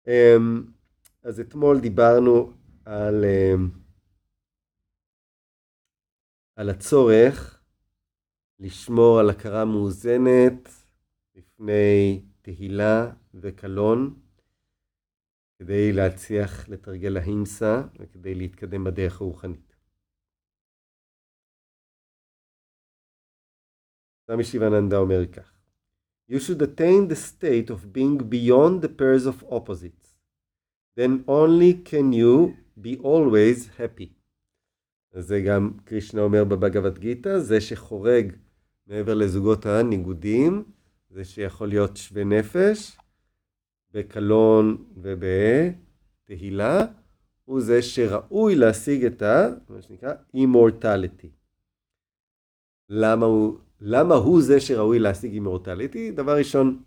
אז אתמול דיברנו על הצורך לשמור על הכרה מאוזנת לפני תהילה וקלון, כדי להצליח לתרגל ההימסה וכדי להתקדם בדרך הרוחנית. סמי שיבננדה אומר כך: You should attain the state of being beyond the pairs of opposites. Then only can you be always happy. זה גם קרישנה אומר בבגבד גיטה, זה שחורג מעבר לזוגות הניגודים, זה שיכול להיות שווה נפש, בקלון ובתהילה, הוא זה שראוי להשיג את מה שנקרא immortality. למה הוא זה שראוי להשיג immortality? דבר ראשון,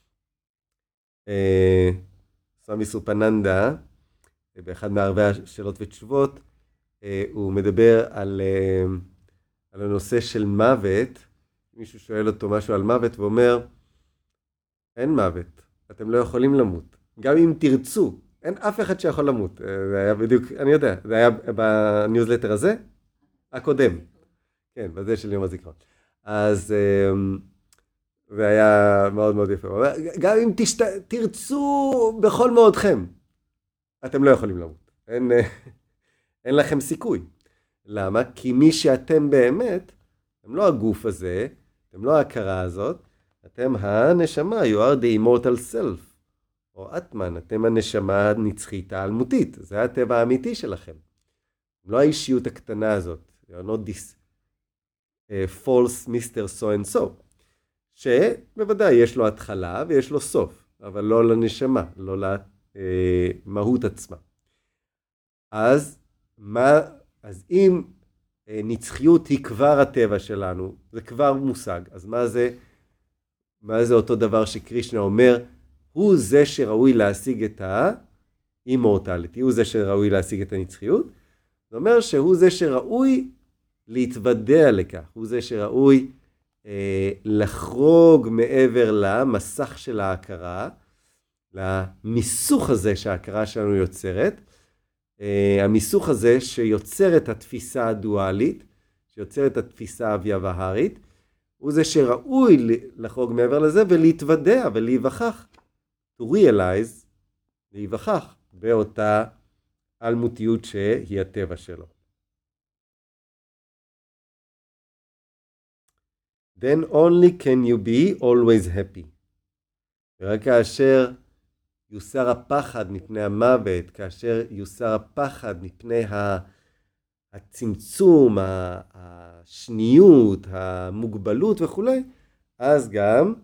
סמי סופננדה, באחד מערבי השאלות ותשובות, הוא מדבר על הנושא של מוות. מישהו שואל אותו משהו על מוות ואומר, אין מוות, אתם לא יכולים למות. גם אם תרצו, אין אף אחד שיכול למות. זה היה בדיוק, אני יודע, זה היה בניוזלטר הזה, הקודם. כן, בזה של יום הזיכרון. אז זה היה מאוד מאוד יפה. גם אם תרצו בכל מאודכם, אתם לא יכולים למות. אין לכם סיכוי. למה? כי מי שאתם באמת, אתם לא הגוף הזה, אתם לא ההכרה הזאת, אתם הנשמה, you are the immortal self, או אטמן, אתם הנשמה הנצחית האלמותית, זה הטבע האמיתי שלכם. לא האישיות הקטנה הזאת, you are not this false Mr. so and so, שבוודאי יש לו התחלה ויש לו סוף, אבל לא לנשמה, לא למהות עצמה. אז אם נצחיות היא כבר הטבע שלנו, זה כבר מושג, אז מה זה אותו דבר שקרישנה אומר, הוא זה שראוי להשיג את ה-immortality, הוא זה שראוי להשיג את הנצחיות, זה אומר שהוא זה שראוי להתוודע לכך, הוא זה שראוי לחרוג מעבר למסך של ההכרה, למיסוך הזה שההכרה שלנו יוצרת, המיסוך הזה שיוצר את התפיסה הדואלית, שיוצר את התפיסה הוויאבהרית, הוא זה שראוי לחרוג מעבר לזה ולהתוודע ולהיווכח, to realize, להיווכח באותה אלמותיות שהיא הטבע שלו. Then only can you be always happy. ורק כאשר יוסר הפחד מפני המוות, כאשר יוסר הפחד מפני הצמצום, השניות, המוגבלות וכו', אז גם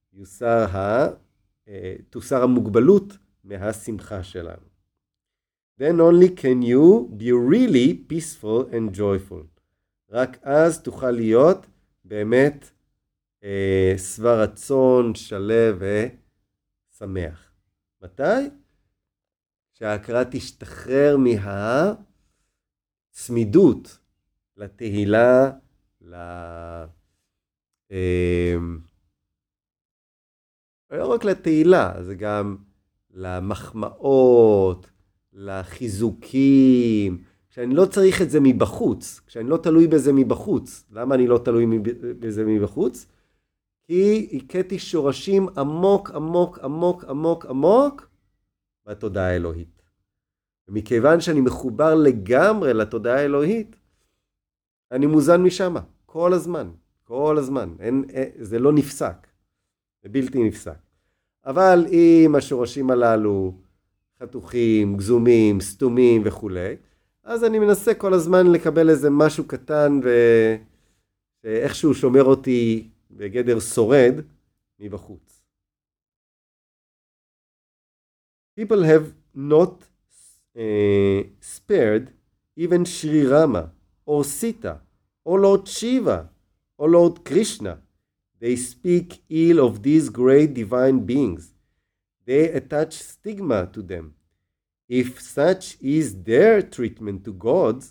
תוסר המוגבלות מהשמחה שלנו. Then only can you be really peaceful and joyful. רק אז תוכל להיות באמת שבע רצון, שלב ושמח. מתי? שההכרה תשתחרר מהצמידות לתהילה, לא רק לתהילה, זה גם למחמאות, לחיזוקים, כשאני לא צריך את זה מבחוץ, כשאני לא תלוי בזה מבחוץ. למה אני לא תלוי בזה מבחוץ? כי הכיתי שורשים עמוק, עמוק, עמוק, עמוק, עמוק בתודעה האלוהית. ומכיוון שאני מחובר לגמרי לתודעה האלוהית, אני מוזן משם, כל הזמן, כל הזמן. זה לא נפסק, זה בלתי נפסק. אבל אם השורשים הללו חתוכים, גזומים, סתומים וכו', אז אני מנסה כל הזמן לקבל איזה משהו קטן ואיכשהו שומר אותי בגדר שורד מבחוץ. People have not spared even Sri Rama or Sita or Lord Shiva or Lord Krishna. They speak ill of these great divine beings. They attach stigma to them. If such is their treatment to gods,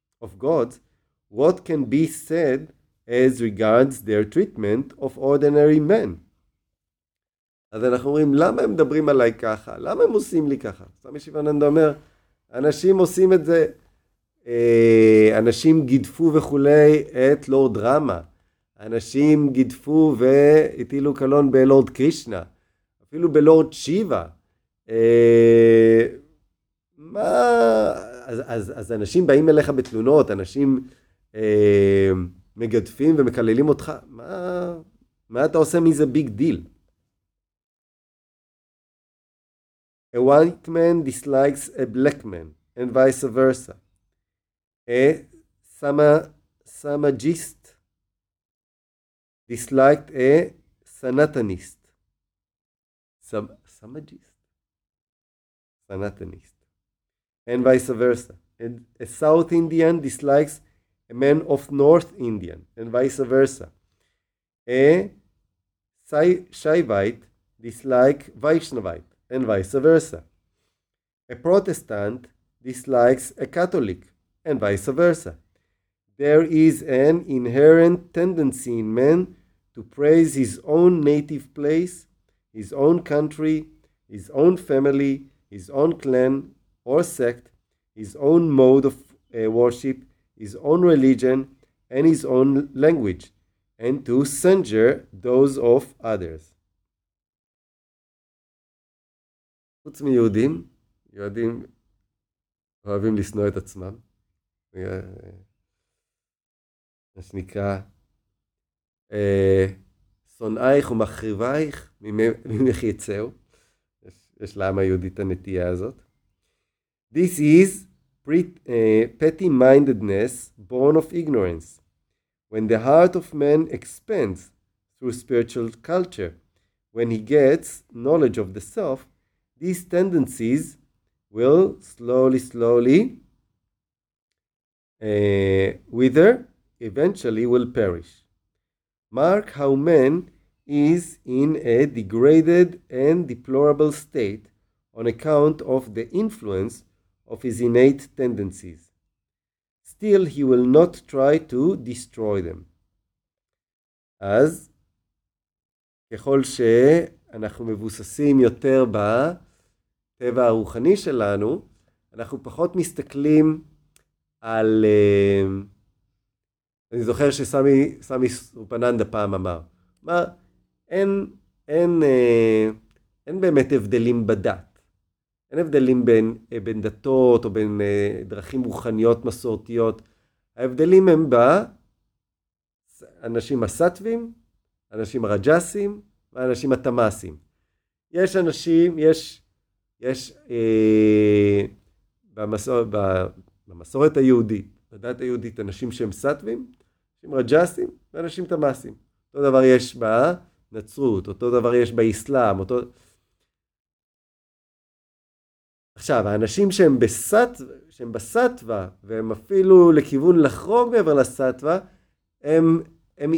what can be said as regards their treatment of ordinary men? אז אנחנו אומרים, למה הם מדברים עליי ככה? למה הם עושים לי ככה? סמי שיבננדה אומר, אנשים עושים את זה, אנשים גידפו וכולי את לורד רמה, אנשים גידפו והטילו קלון בלורד קרישנה, אפילו בלורד שיבה. אז אנשים באים אליך בתלונות, אנשים מגדפים ומקללים אותך, מה אתה עושה מזה ביג דיל? A white man dislikes a black man, and vice versa. A Samajist disliked a Sanatanist. Samajist? Sanatanist. And vice versa. And a South Indian dislikes a man of North Indian, and vice versa. A Shaivite dislikes Vaishnavite, and vice versa. A Protestant dislikes a Catholic, and vice versa. There is an inherent tendency in man to praise his own native place, his own country, his own family, his own clan or sect, his own mode of worship, his own religion, and his own language, and to censure those of others. חוץ מיהודים, יהודים אוהבים לשנוא את עצמם. מה שנקרא, שונאייך ומחריבייך ממך יצאו. יש לעם היהודי את הנטייה הזאת. This is petty-mindedness born of ignorance. When the heart of man expands through spiritual culture, when he gets knowledge of the self, these tendencies will slowly wither, eventually will perish. Mark how man is in a degraded and deplorable state on account of the influence of his innate tendencies. Still, he will not try to destroy them. אז ככל שאנחנו מבוססים יותר בטבע הרוחני שלנו, אנחנו פחות מסתכלים על... אני זוכר שסמי סופננדה פעם אמר, אין באמת הבדלים בדת. אין הבדלים בין דתות או בין דרכים רוחניות מסורתיות. ההבדלים הם באנשים הסטווים, אנשים הרג'סים ואנשים התמאסים. יש אנשים, יש במסורת היהודית, בדת היהודית, אנשים שהם סטווים, אנשים רג'סים ואנשים תמאסים. אותו דבר יש בנצרות, אותו דבר יש באסלאם, עכשיו, האנשים שהם בסטווה, והם אפילו לכיוון לחרוג מעבר לסטווה, הם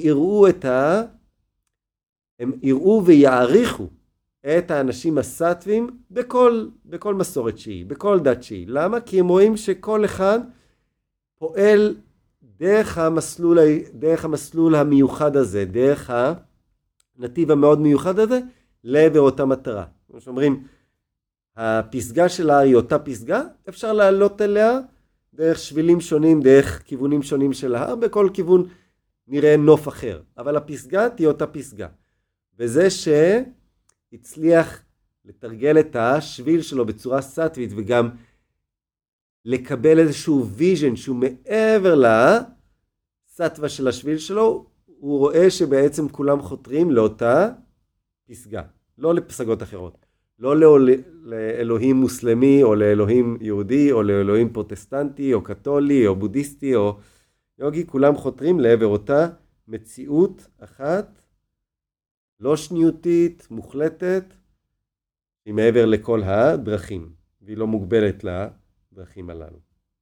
יראו ויעריכו את האנשים הסטווים בכל מסורת שהיא, בכל דת שהיא. למה? כי הם רואים שכל אחד פועל דרך המסלול המיוחד הזה, דרך הנתיב המאוד מיוחד הזה, לעבר אותה מטרה. כמו שאומרים, הפסגה שלה היא אותה פסגה, אפשר לעלות אליה דרך שבילים שונים, דרך כיוונים שונים של ההר, בכל כיוון נראה נוף אחר. אבל הפסגה תהיה אותה פסגה. וזה שהצליח לתרגל את השביל שלו בצורה סטווית, וגם לקבל איזשהו ויז'ן שהוא מעבר לסטווה של השביל שלו, הוא רואה שבעצם כולם חותרים לאותה פסגה, לא לפסגות אחרות. לא לאלוהים מוסלמי, או לאלוהים יהודי, או לאלוהים פרוטסטנטי, או קתולי, או בודהיסטי, או יוגי, כולם חותרים לעבר אותה מציאות אחת, לא שניותית, מוחלטת, היא מעבר לכל הדרכים, והיא לא מוגבלת לדרכים הללו.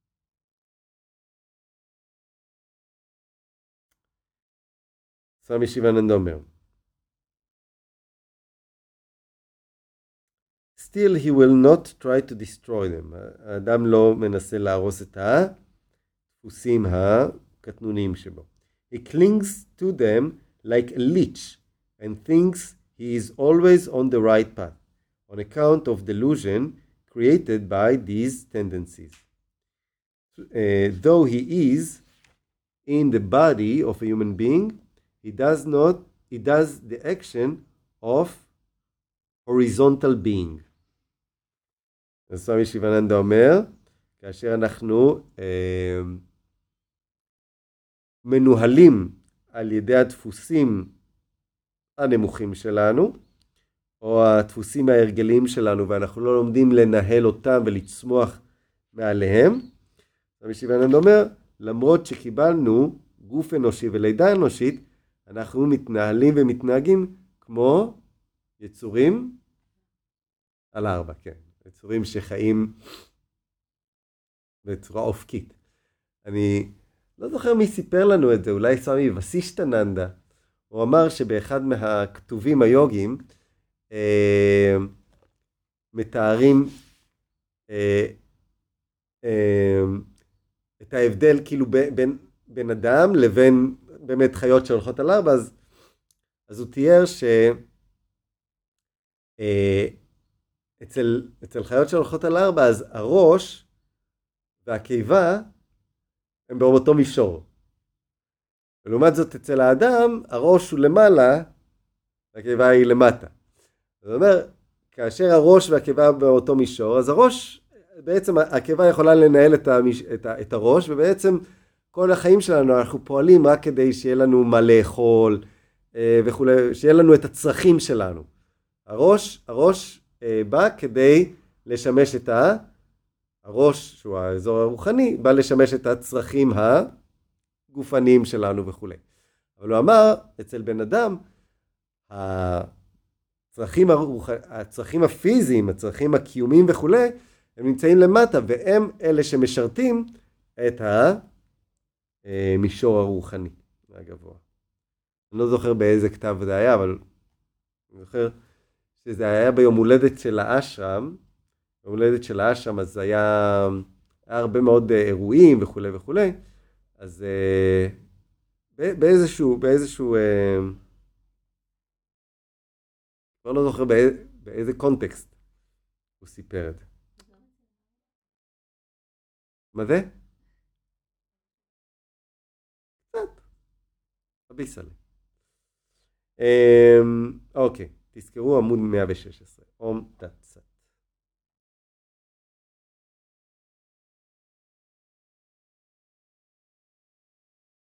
סמי שיבננדה אומר, Still he will not try to destroy them. האדם לא מנסה להרוס את הדפוסים הקטנוניים שבו. He clings to them like a leech and thinks he is always on the right path, on account of delusion created by these tendencies. Though he is in the body of a human being, he does the action of horizontal being. אז סמי שיבננדה אומר, כאשר אנחנו מנוהלים על ידי הדפוסים הנמוכים שלנו, או הדפוסים ההרגליים שלנו, ואנחנו לא לומדים לנהל אותם ולצמוח מעליהם, סמי שיבננדה אומר, למרות שקיבלנו גוף אנושי ולידה אנושית, אנחנו מתנהלים ומתנהגים כמו יצורים על 4, כן. יצורים שחיים בצורה אופקית. אני לא זוכר מי סיפר לנו את זה, אולי סמי וסישטננדה. הוא אמר שבאחד מהכתובים היוגיים מתארים את ההבדל כאילו בין אדם לבין באמת חיות שהולכות על 4, אז הוא תיאר אצל חיות שהולכות על 4, אז הראש והקיבה הם באותו מישור. ולעומת זאת אצל האדם, הראש הוא למעלה, והקיבה היא למטה. זאת אומרת, כאשר הראש והקיבה באותו מישור, אז הראש, בעצם הקיבה יכולה לנהל את הראש, ובעצם כל החיים שלנו אנחנו פועלים רק כדי שיהיה לנו מה לאכול, וכו', שיהיה לנו את הצרכים שלנו. הראש בא כדי לשמש את הראש, שהוא האזור הרוחני, בא לשמש את הצרכים הגופניים שלנו וכו'. אבל הוא אמר, אצל בן אדם, הצרכים הפיזיים, הצרכים הקיומיים וכו', הם נמצאים למטה, והם אלה שמשרתים את המישור הרוחני הגבוה. אני לא זוכר באיזה כתב זה היה, אבל אני זוכר שזה היה ביום הולדת של האשרם. ביום הולדת של האשרם, אז היה הרבה מאוד אירועים וכו' וכו'. אז באיזשהו לא זוכר באיזה קונטקסט הוא סיפר את זה. מה זה? קצת. הביסה לי. אוקיי, תזכרו עמוד 116. אום תצא.